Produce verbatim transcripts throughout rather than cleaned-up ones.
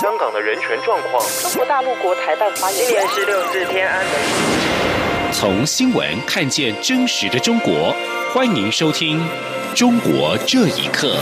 香港的人权状况。 中国大陆国台办发言人， 今年是六四天安门。 从新闻看见真实的中国，欢迎收听《中国这一刻》。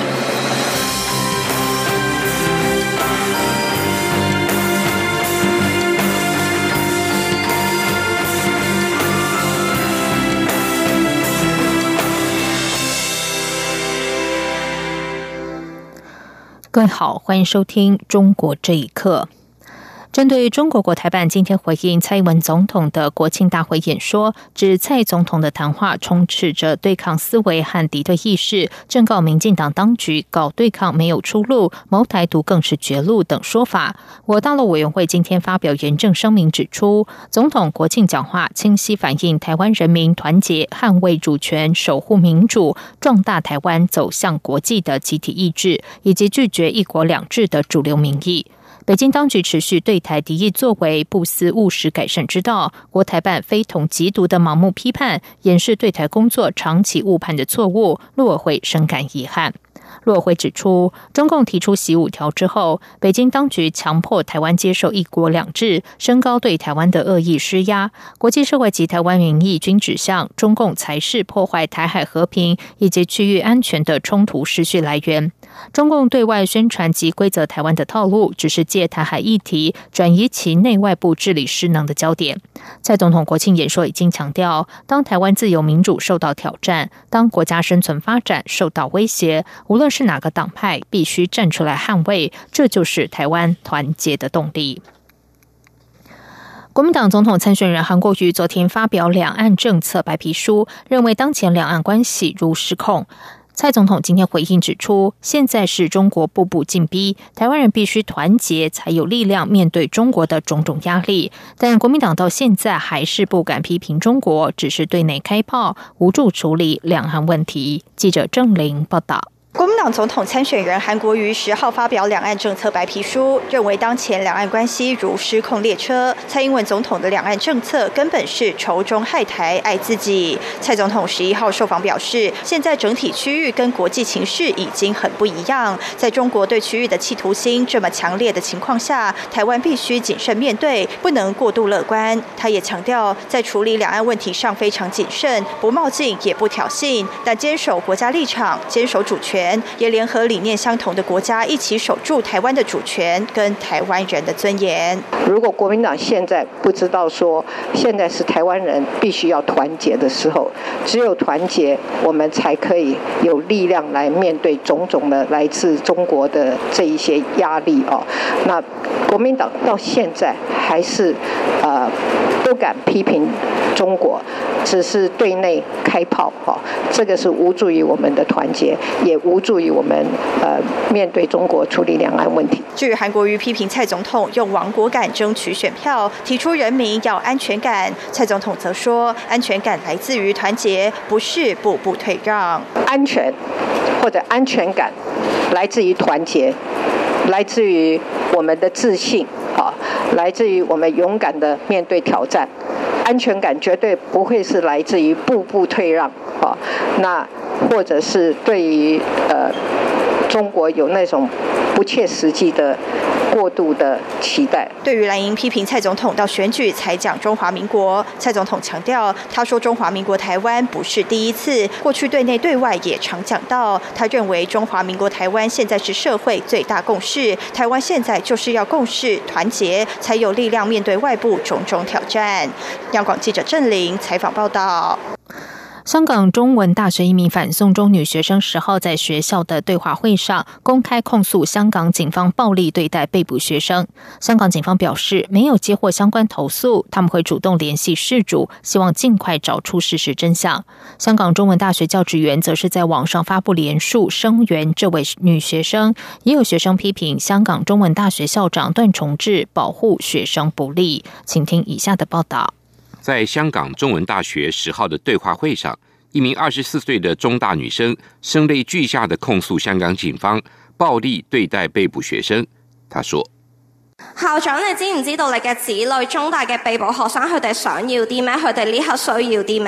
各位好，欢迎收听《中国这一刻》。针对中国国台办今天回应蔡英文总统的国庆大会演说，指蔡总统的谈话充斥着对抗思维和敌对意识，正告民进党当局搞对抗没有出路，谋台独更是绝路等说法。我大陆委员会今天发表严正声明，指出总统国庆讲话清晰反映台湾人民团结捍卫主权、守护民主、壮大台湾走向国际的集体意志，以及拒绝一国两制的主流民意。北京当局持续对台敌意作为，不思务实改善之道，国台办非同即读的盲目批判，掩饰对台工作长期误判的错误，陆委会深感遗憾。陆委会指出，中共提出习五条之后，北京当局强迫台湾接受一国两制，升高对台湾的恶意施压，国际社会及台湾民意均指向中共才是破坏台海和平以及区域安全的冲突失序来源。中共对外宣传及规则台湾的套路，只是借台海议题转移其内外部治理失能的焦点。蔡总统国庆演说已经强调，当台湾自由民主受到挑战，当国家生存发展受到威胁，无论是哪个党派必须站出来捍卫，这就是台湾团结的动力。国民党总统参选人韩国瑜昨天发表两岸政策白皮书，认为当前两岸关系如失控。蔡总统今天回应指出，现在是中国步步进逼，台湾人必须团结才有力量面对中国的种种压力。但国民党到现在还是不敢批评中国，只是对内开炮，无助处理两岸问题。记者郑玲报道。 国民党总统参选人韩国瑜十号发表两岸政策白皮书，认为当前两岸关系如失控列车，蔡英文总统的两岸政策根本是仇中害台爱自己。蔡总统十一号受访表示，现在整体区域跟国际情势已经很不一样，在中国对区域的企图心这么强烈的情况下，台湾必须谨慎面对，不能过度乐观。他也强调，在处理两岸问题上非常谨慎，不冒进也不挑衅，但坚守国家立场，坚守主权，也联合理念相同的国家一起守住台湾的主权跟台湾人的尊严。 如果国民党现在不知道说现在是台湾人必须要团结的时候，只有团结我们才可以有力量来面对种种的来自中国的这一些压力哦。那国民党到现在还是呃不敢批评中国，只是对内开炮哈、哦，这个是无助于我们的团结，也无助于我们呃面对中国处理两岸问题。 至于韩国瑜批评蔡总统用亡国感争取选票，提出人民要安全感，蔡总统则说，安全感来自于团结，不是步步退让。 安全或者安全感来自于团结，来自于我们的自信啊，来自于我们勇敢的面对挑战。安全感绝对不会是来自于步步退让啊，那或者是对于呃中国有那种不切实际的过度的期待。 对于蓝营批评蔡总统到选举才讲中华民国，蔡总统强调，他说中华民国台湾不是第一次，过去对内对外也常讲到，他认为中华民国台湾现在是社会最大共识，台湾现在就是要共识团结，才有力量面对外部种种挑战。央广记者郑玲采访报道。 香港中文大学一名反送中女学生十号在学校的对话会上公开控诉香港警方暴力对待被捕学生。香港警方表示没有接获相关投诉，他们会主动联系事主，希望尽快找出事实真相。香港中文大学教职员则是在网上发布联署声援这位女学生，也有学生批评香港中文大学校长段崇智保护学生不力。请听以下的报道。 在香港中文大学十号的对话会上，一名二十四岁的中大女生声泪俱下的控訴香港警方暴力對待被捕學生。她說： 校長，你知唔知道你嘅子女中大嘅被捕學生佢哋想要啲咩？佢哋呢刻需要啲咩？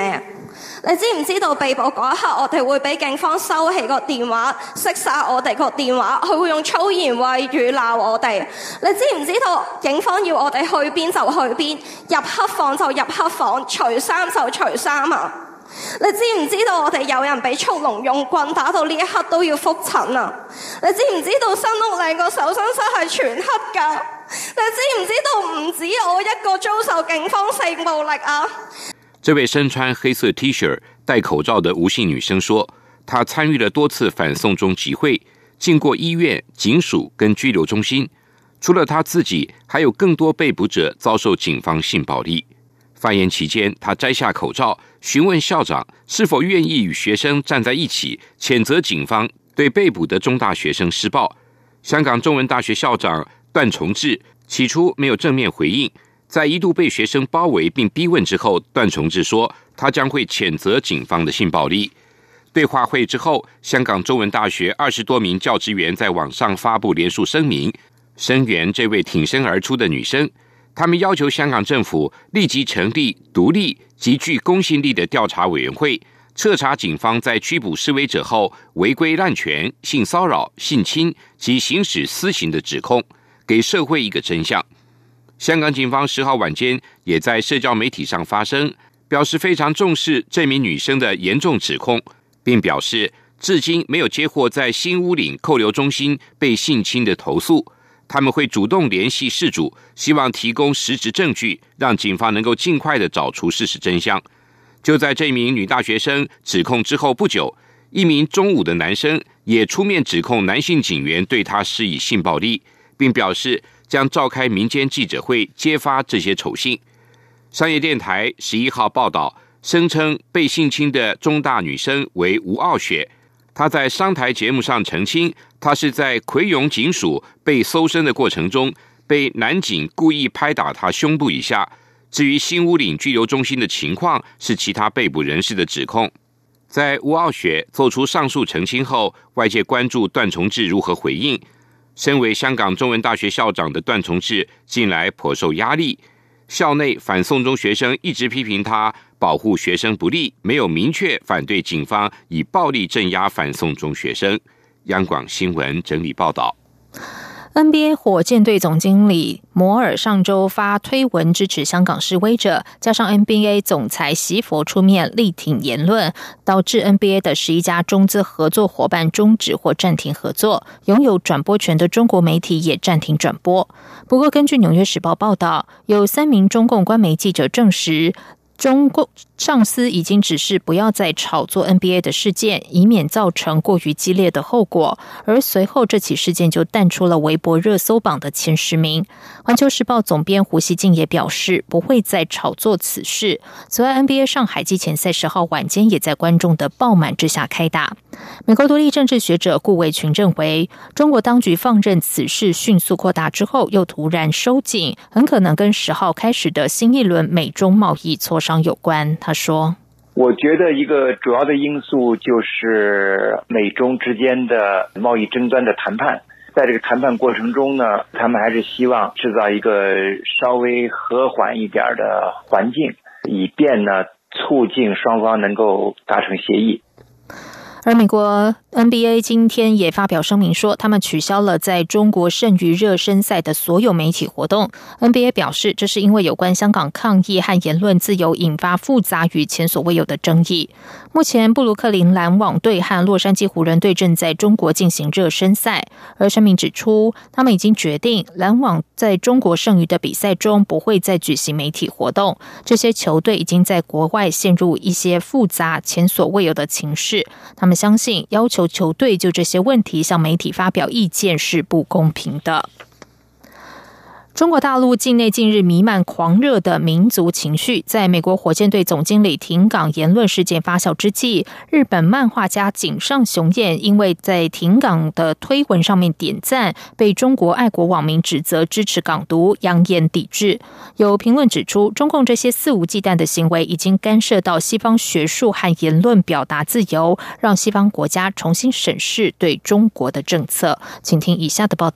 你知唔知道被捕嗰一刻，我哋會俾警方收起個電話，熄晒我哋個電話，佢會用粗言穢語鬧我哋。你知唔知道警方要我哋去邊就去邊，入黑房就入黑房，除衫就除衫啊？你知唔知道我哋有人俾速龍用棍打到呢一刻都要覆診啊？你知唔知道新屋嶺個搜身室係全黑㗎？你知唔知道唔止我一個遭受警方性暴力啊？ 这位身穿黑色 T 恤、戴口罩的吴姓女生说，她参与了多次反送中集会，进过医院、警署跟拘留中心。除了她自己，还有更多被捕者遭受警方性暴力。发言期间，她摘下口罩，询问校长是否愿意与学生站在一起，谴责警方对被捕的中大学生施暴。香港中文大学校长段崇智起初没有正面回应，在一度被学生包围并逼问之后，段崇智说他将会谴责警方的性暴力。对话会之后，香港中文大学二十多名教职员在网上发布联署声明，声援这位挺身而出的女生。他们要求香港政府立即成立独立及具公信力的调查委员会，彻查警方在拘捕示威者后违规滥权、性骚扰、性侵及行使私刑的指控，给社会一个真相。香港警方十号晚间也在社交媒体上发声，表示非常重视这名女生的严重指控，并表示至今没有接获在新屋岭扣留中心被性侵的投诉，他们会主动联系事主，希望提供实质证据，让警方能够尽快的找出事实真相。就在这名女大学生指控之后不久，一名中五的男生也出面指控男性警员对他施以性暴力，并表示将召开民间记者会揭发这些丑信。商业电台十一号报道，声称被性侵的中大女生为吴傲雪，她在商台节目上澄清，她是在葵涌警署被搜身的过程中，被男警故意拍打她胸部以下。至于新屋岭拘留中心的情况，是其他被捕人士的指控。在吴傲雪做出上述澄清后，外界关注段崇智如何回应。身为香港中文大学校长的段崇智近来颇受压力，校内反送中学生一直批评他保护学生不力，没有明确反对警方以暴力镇压反送中学生。央广新闻整理报道。 N B A 火箭队总经理摩尔上周发推文支持香港示威者，加上 N B A 总裁席佛出面力挺言论，导致 N B A 的十一家中资合作伙伴终止或暂停合作，拥有转播权的中国媒体也暂停转播。不过，根据纽约时报报道，有三名中共官媒记者证实，中共上司已经指示不要再炒作 N B A 的事件，以免造成过于激烈的后果。而随后这起事件就淡出了微博热搜榜的前十名。环球时报总编胡锡进也表示，不会再炒作此事。此外 ，N B A 上海季前赛十号晚间也在观众的爆满之下开打。美国独立政治学者顾维群认为，中国当局放任此事迅速扩大之后，又突然收紧，很可能跟十号开始的新一轮美中贸易磋商有关。他说， 我觉得一个主要的因素就是美中之间的贸易争端的谈判，在这个谈判过程中呢，他们还是希望制造一个稍微和缓一点的环境，以便呢促进双方能够达成协议。 而美国 N B A 今天也发表声明说，他们取消了在中国剩余热身赛的所有媒体活动。N B A 表示，这是因为有关香港抗议和言论自由引发复杂与前所未有的争议。目前，布鲁克林篮网队和洛杉矶湖人队正在中国进行热身赛，而声明指出，他们已经决定篮网在中国剩余的比赛中不会再举行媒体活动。这些球队已经在国外陷入一些复杂、前所未有的情势。他们相信要求球队就这些问题向媒体发表意见是不公平的。中国大陆境内近日弥漫狂热的民族情绪，在美国火箭队总经理停港言论事件发酵之际，日本漫画家井上雄彦因为在停港的推文上面点赞，被中国爱国网民指责支持港独，扬言抵制。有评论指出，中共这些肆无忌惮的行为已经干涉到西方学术和言论表达自由，让西方国家重新审视对中国的政策。请听以下的报道。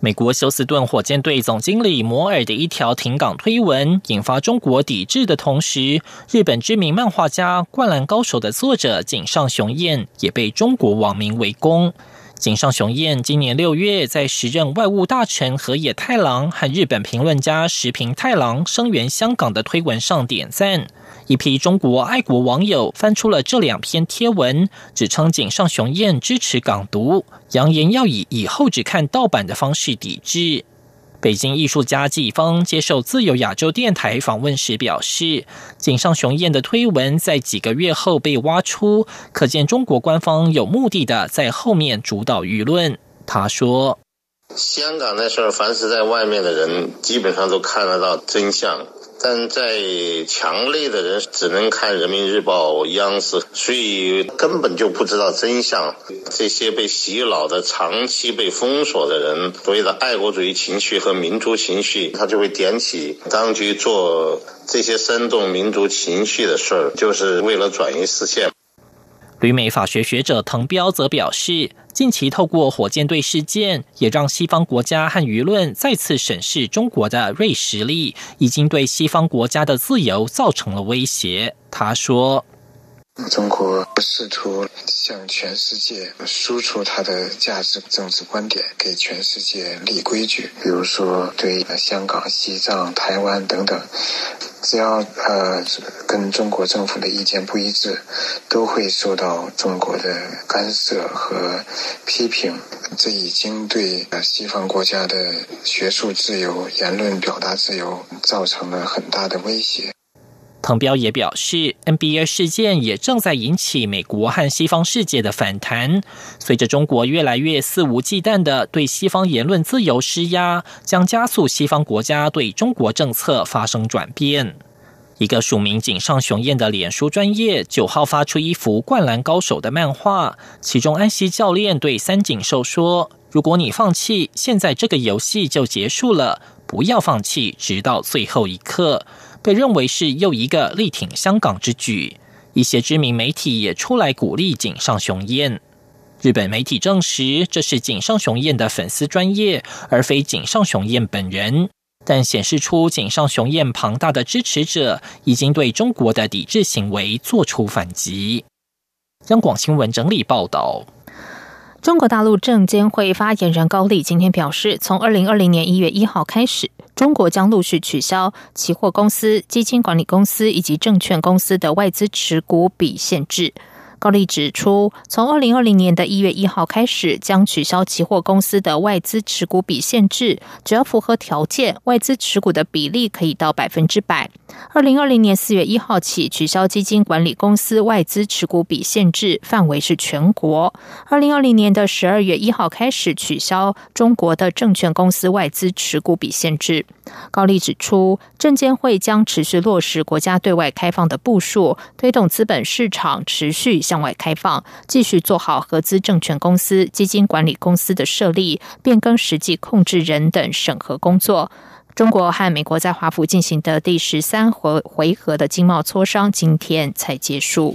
美国休斯顿火箭队总经理摩尔的一条停港推文引发中国抵制的同时，日本知名漫画家《灌篮高手》的作者井上雄彦也被中国网民围攻。井上雄彦今年六月在时任外务大臣河野太郎和日本评论家石平太郎声援香港的推文上点赞。一批中国爱国网友翻出了这两篇贴文，指称井上雄彦支持港独，扬言要以以后只看盗版的方式抵制。北京艺术家季风接受自由亚洲电台访问时表示，井上雄彦的推文在几个月后被挖出，可见中国官方有目的的在后面主导舆论。他说， 香港那事儿，凡是在外面的人基本上都看得到真相，但在墙内的人只能看人民日报、央视，所以根本就不知道真相。这些被洗脑的、长期被封锁的人，所谓的爱国主义情绪和民族情绪，他就会点起当局做这些煽动民族情绪的事儿，就是为了转移视线。 旅美法学学者滕彪则表示，近期透过火箭队事件，也让西方国家和舆论再次审视中国的锐实力，已经对西方国家的自由造成了威胁。他说， 中国试图向全世界输出它的价值政治观点，给全世界立规矩，比如说对香港、西藏、台湾等等，只要呃跟中国政府的意见不一致，都会受到中国的干涉和批评。这已经对西方国家的学术自由、言论表达自由造成了很大的威胁。 滕彪也表示 ，N B A 事件也正在引起美国和西方世界的反弹。随着中国越来越肆无忌惮地对西方言论自由施压，将加速西方国家对中国政策发生转变。一个署名井上雄彦的脸书专页九号发出一幅《灌篮高手》的漫画，其中安西教练对三井寿说：“如果你放弃，现在这个游戏就结束了，不要放弃，直到最后一刻。”被认为是又一个力挺香港之举，一些知名媒体也出来鼓励井上雄彦。日本媒体证实，这是井上雄彦的粉丝专页，而非井上雄彦本人，但显示出井上雄彦庞大的支持者已经对中国的抵制行为做出反击。央广新闻整理报道。 中国大陆证监会发言人高丽今天表示，从二零二零年一月一号开始，中国将陆续取消期货公司、基金管理公司以及证券公司的外资持股比限制。高丽指出，从二零二零年的一月一号开始，将取消期货公司的外资持股比限制，只要符合条件，外资持股的比例可以到百分之百。二零二零年四月一号起，取消基金管理公司外资持股比限制，范围是全国。二零二零年的十二月一号开始，取消中国的证券公司外资持股比限制。高丽指出，证监会将持续落实国家对外开放的部署，推动资本市场持续向外开放，继续做好合资证券公司、基金管理公司的设立、变更实际控制人等审核工作。中国和美国在华府进行的第十三回合的经贸磋商今天才结束。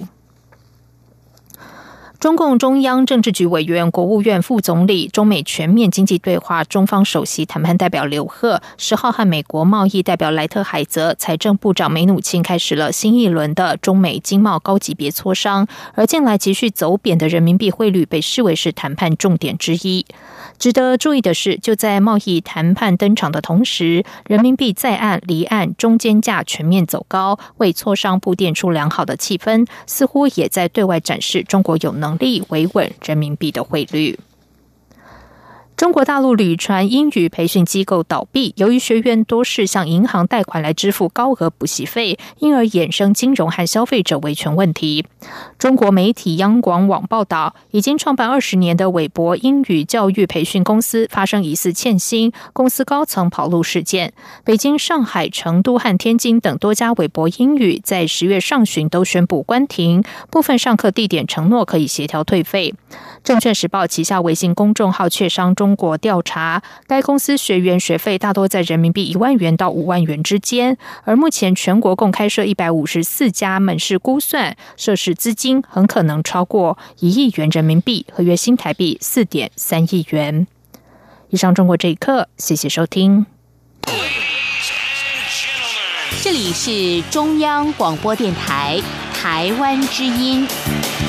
中共中央政治局委员、国务院副总理、中美全面经济对话中方首席谈判代表刘鹤十号和美国贸易代表莱特海泽、财政部长梅努钦开始了新一轮的中美经贸高级别磋商，而近来急续走贬的人民币汇率被视为是谈判重点之一。值得注意的是，就在贸易谈判登场的同时，人民币在岸、离岸中间价全面走高，为磋商铺垫出良好的气氛，似乎也在对外展示中国有能力维稳人民币的汇率。中国大陆旅传英语培训机构倒闭，由于学员多是向银行贷款来支付高额补习费，因而衍生金融和消费者维权问题。中国媒体央广网报道，已经创办二十年的韦博英语教育培训公司发生疑似欠薪、公司高层跑路事件。北京、上海、成都和天津等多家韦博英语在十月上旬都宣布关停，部分上课地点承诺可以协调退费。证券时报旗下微信公众号券商中国调查，该公司学员学费大多在人民币一万元到五万元之间，而目前全国共开设一百五十四家门市，估算涉事资金很可能超过一亿元人民币，合约新台币四点三亿元。 以上中国这一刻，谢谢收听。 这里是中央广播电台台湾之音。